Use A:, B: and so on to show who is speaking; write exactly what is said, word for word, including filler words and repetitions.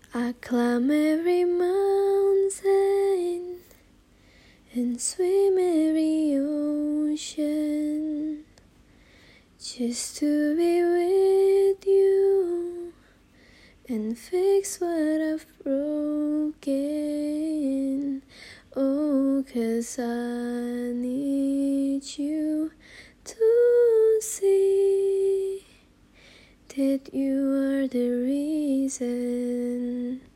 A: I climb every mountain and swim every ocean just to be with you and fix what I've broken. Oh, 'cause I need you to see that you are the reason